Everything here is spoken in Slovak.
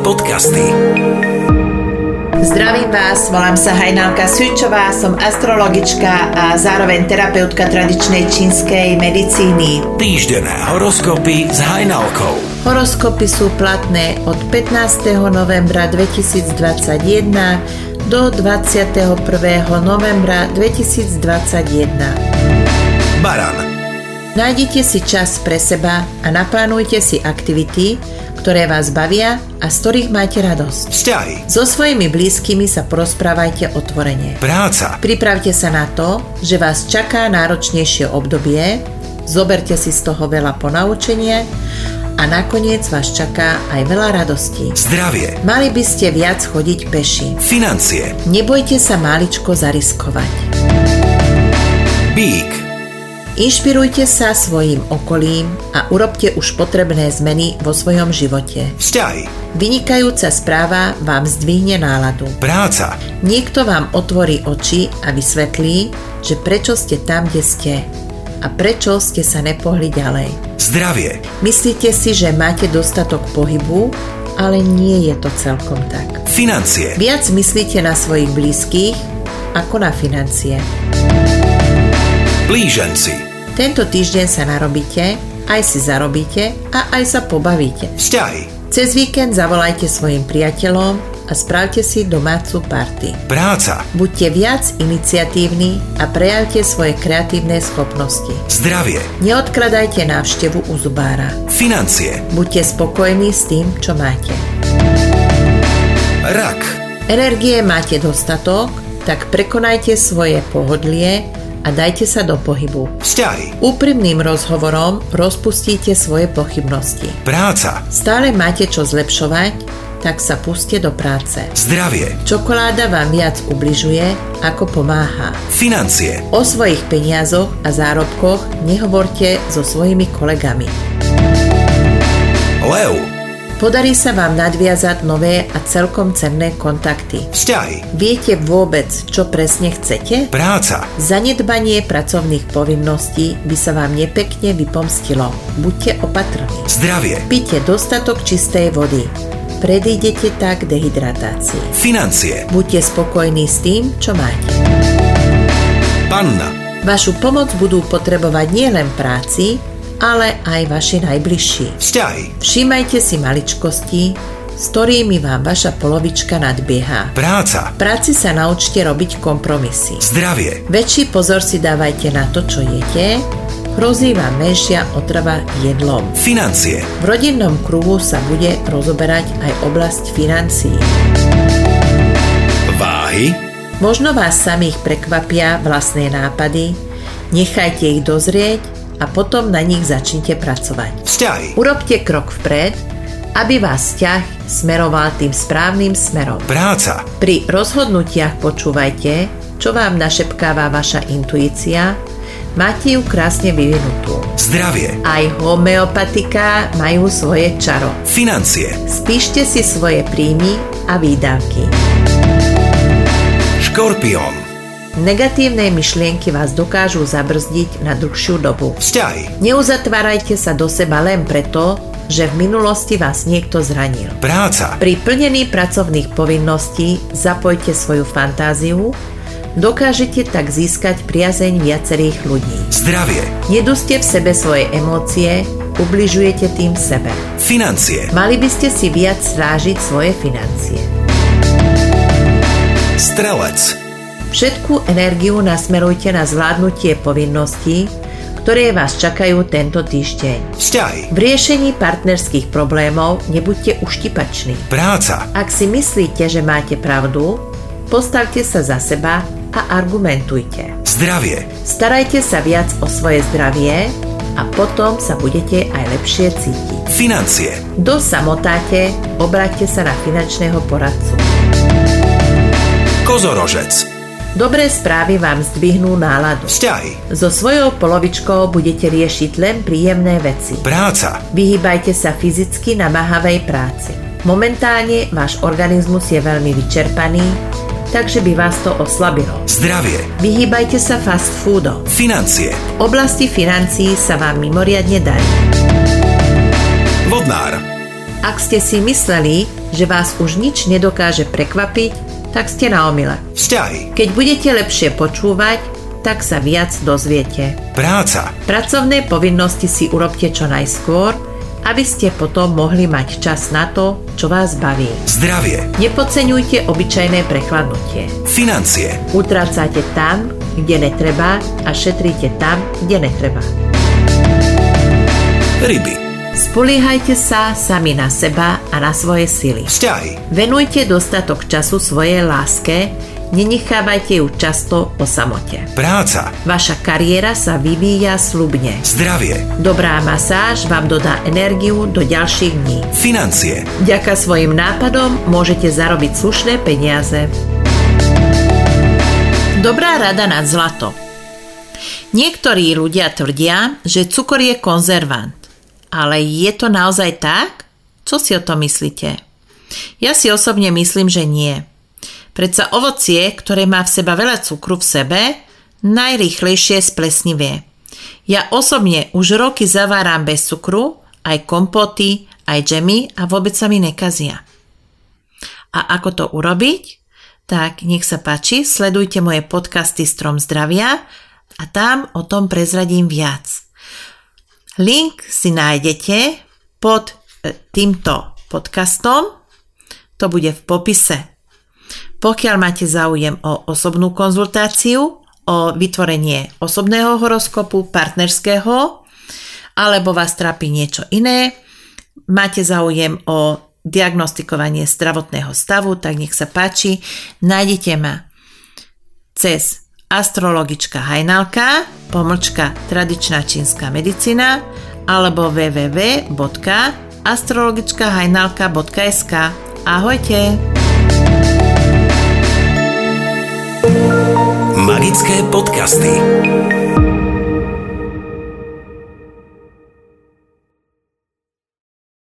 podcasty. Zdravím vás, volám sa Hajnalka Sučová, som astrologička a zároveň terapeutka tradičnej čínskej medicíny. Týždenné horoskopy s Hajnalkou. Horoskopy sú platné od 15. novembra 2021 do 21. novembra 2021. Baran. Nájdite si čas pre seba a naplánujte si aktivity, ktoré vás bavia a z ktorých máte radosť. Vzťahy. So svojimi blízkymi sa porozprávajte otvorene. Práca. Pripravte sa na to, že vás čaká náročnejšie obdobie, zoberte si z toho veľa ponaučenia a nakoniec vás čaká aj veľa radostí. Zdravie. Mali by ste viac chodiť peši. Financie. Nebojte sa máličko zariskovať. Bík. Inšpirujte sa svojím okolím a urobte už potrebné zmeny vo svojom živote. Vzťahy. Vynikajúca správa vám zdvihne náladu. Práca. Niekto vám otvorí oči a vysvetlí, že prečo ste tam, kde ste a prečo ste sa nepohli ďalej. Zdravie. Myslíte si, že máte dostatok pohybu, ale nie je to celkom tak. Financie. Viac myslíte na svojich blízkych ako na financie. Blíženci. Tento týždeň sa narobíte, aj si zarobíte a aj sa pobavíte. Vzťahy. Cez víkend zavolajte svojim priateľom a spravte si domácu party. Práca. Buďte viac iniciatívni a prejavte svoje kreatívne schopnosti. Zdravie. Neodkladajte návštevu u zubára. Financie. Buďte spokojní s tým, čo máte. Rak. Energie máte dostatok, tak prekonajte svoje pohodlie a dajte sa do pohybu. Vzťahy. Úprimným rozhovorom rozpustíte svoje pochybnosti. Práca. Stále máte čo zlepšovať, tak sa puste do práce. Zdravie. Čokoláda vám viac ubližuje, ako pomáha. Financie. O svojich peniazoch a zárobkoch nehovorte so svojimi kolegami. Lev. Podarí sa vám nadviazať nové a celkom cenné kontakty. Vzťahy. Viete vôbec, čo presne chcete? Práca. Zanedbanie pracovných povinností by sa vám nepekne vypomstilo. Buďte opatrní. Zdravie. Pite dostatok čistej vody. Predídete tak dehydratácii. Financie. Buďte spokojní s tým, čo máte. Panna. Vašu pomoc budú potrebovať nielen práci, ale aj vaši najbližší. Vzťahy. Všímajte si maličkosti, s ktorými vám vaša polovička nadbieha. Práca. V práci sa naučte robiť kompromisy. Zdravie. Väčší pozor si dávajte na to, čo jete, hrozí vám menšia otrava jedlom. Financie. V rodinnom kruhu sa bude rozoberať aj oblasť financií. Váhy. Možno vás samých prekvapia vlastné nápady, nechajte ich dozrieť a potom na nich začnite pracovať. Vzťahy. Urobte krok vpred, aby vás vzťah smeroval tým správnym smerom. Práca. Pri rozhodnutiach počúvajte, čo vám našepkáva vaša intuícia, máte ju krásne vyvinutú. Zdravie. Aj homeopatiká majú svoje čaro. Financie. Spíšte si svoje príjmy a výdavky. Škorpión. Negatívne myšlienky vás dokážu zabrzdiť na dlhšiu dobu. Vzťahy. Neuzatvárajte sa do seba len preto, že v minulosti vás niekto zranil. Práca. Pri plnení pracovných povinností zapojte svoju fantáziu, dokážete tak získať priazeň viacerých ľudí. Zdravie. Neduste v sebe svoje emócie, ubližujete tým sebe. Financie. Mali by ste si viac strážiť svoje financie. Strelec. Všetku energiu nasmerujte na zvládnutie povinností, ktoré vás čakajú tento týždeň. Vzťahy. V riešení partnerských problémov nebuďte uštipační. Práca. Ak si myslíte, že máte pravdu, postavte sa za seba a argumentujte. Zdravie. Starajte sa viac o svoje zdravie a potom sa budete aj lepšie cítiť. Financie. Kto samotáte, obráťte sa na finančného poradcu. Kozorožec. Dobré správy vám zdvihnú náladu. Vzťahy. So svojou polovičkou budete riešiť len príjemné veci. Práca. Vyhýbajte sa fyzicky namáhavej práci. Momentálne váš organizmus je veľmi vyčerpaný, takže by vás to oslabilo. Zdravie. Vyhýbajte sa fast foodom. Financie. V oblasti financií sa vám mimoriadne darí. Vodnár. Ak ste si mysleli, že vás už nič nedokáže prekvapiť, tak ste na omyle. Vzťahy. Keď budete lepšie počúvať, tak sa viac dozviete. Práca. Pracovné povinnosti si urobte čo najskôr, aby ste potom mohli mať čas na to, čo vás baví. Zdravie. Nepodceňujte obyčajné prechladnutie. Financie. Utrácate tam, kde netreba a šetríte tam, kde netreba. Ryby. Spoliehajte sa sami na seba a na svoje sily. Vzťahy. Venujte dostatok času svojej láske, nenechávajte ju často o samote. Práca. Vaša kariéra sa vyvíja sľubne. Zdravie. Dobrá masáž vám dodá energiu do ďalších dní. Financie. Vďaka svojim nápadom môžete zarobiť slušné peniaze. Dobrá rada na zlato. Niektorí ľudia tvrdia, že cukor je konzervant. Ale je to naozaj tak? Čo si o tom myslíte? Ja si osobne myslím, že nie. Predsa ovocie, ktoré má v seba veľa cukru v sebe, najrýchlejšie splesnivie. Ja osobne už roky zaváram bez cukru, aj kompoty, aj džemy a vôbec sa mi nekazia. A ako to urobiť? Tak nech sa páči, sledujte moje podcasty Strom zdravia a tam o tom prezradím viac. Link si nájdete pod týmto podcastom, to bude v popise. Pokiaľ máte záujem o osobnú konzultáciu, o vytvorenie osobného horoskopu, partnerského, alebo vás trápi niečo iné, máte záujem o diagnostikovanie zdravotného stavu, tak nech sa páči, nájdete ma cez astrologička Hajnalka, _tradičná čínska medicína alebo www.astrologičkahajnalka.sk. Ahojte! Magické podcasty.